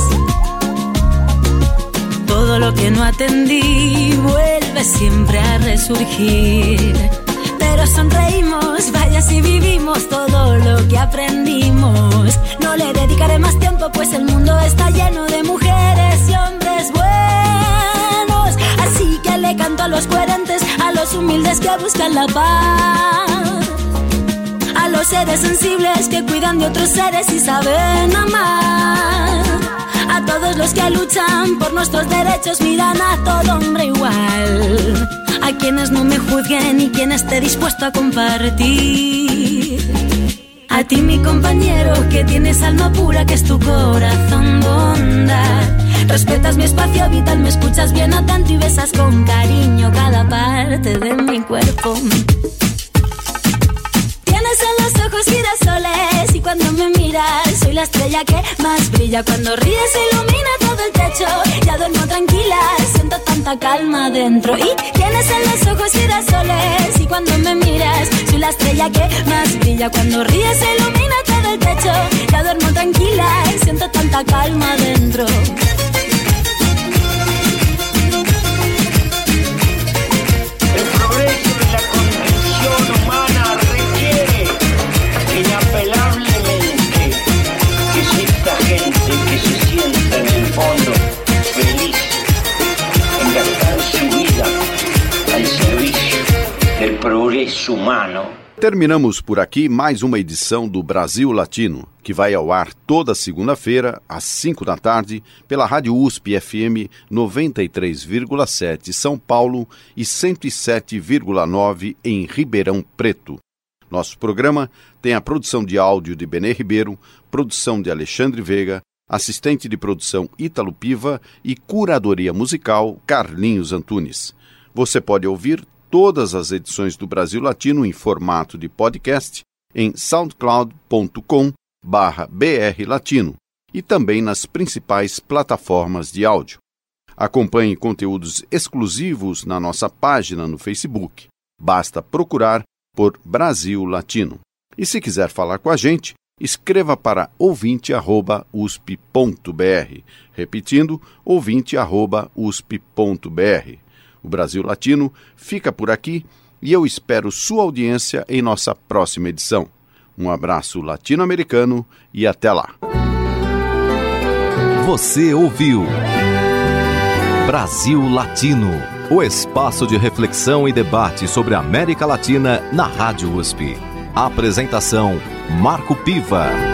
Todo lo que no atendí vuelve siempre a resurgir. Pero sonreímos, vaya si vivimos todo lo que aprendimos. No le dedicaré más tiempo pues el mundo está lleno de mujeres y hombres buenos. Así que le canto a los coherentes, a los humildes que buscan la paz, a los seres sensibles que cuidan de otros seres y saben amar, a todos los que luchan por nuestros derechos, miran a todo hombre igual, a quienes no me juzguen y quien esté dispuesto a compartir. A ti mi compañero que tienes alma pura, que es tu corazón bondad. Respetas mi espacio vital, me escuchas bien atento y besas con cariño cada parte de mi cuerpo. Tienes en los ojos girasoles y cuando me miras soy la estrella que más brilla. Cuando ríes se ilumina todo el techo, ya duermo tranquila, siento tanta calma dentro. Y tienes en los ojos girasoles y cuando me miras soy la estrella que más brilla. Cuando ríes se ilumina todo el techo, ya duermo tranquila, siento tanta calma dentro. El progreso de la condición humana requiere inapelablemente que exista gente que se sienta en el fondo feliz en gastar su vida al servicio del progreso. su mano. Terminamos por aqui mais uma edição do Brasil Latino, que vai ao ar toda segunda-feira, às 5 da tarde, pela Rádio USP FM 93,7 São Paulo e 107,9 em Ribeirão Preto. Nosso programa tem a produção de áudio de Benê Ribeiro, produção de Alexandre Veiga, assistente de produção Ítalo Piva e curadoria musical Carlinhos Antunes. Você pode ouvir todas as edições do Brasil Latino em formato de podcast em soundcloud.com/brlatino e também nas principais plataformas de áudio. Acompanhe conteúdos exclusivos na nossa página no Facebook. Basta procurar por Brasil Latino. E se quiser falar com a gente, escreva para ouvinte@usp.br. Repetindo, ouvinte@usp.br. O Brasil Latino fica por aqui e eu espero sua audiência em nossa próxima edição. Um abraço latino-americano e até lá. Você ouviu Brasil Latino, o espaço de reflexão e debate sobre a América Latina na Rádio USP. Apresentação: Marco Piva.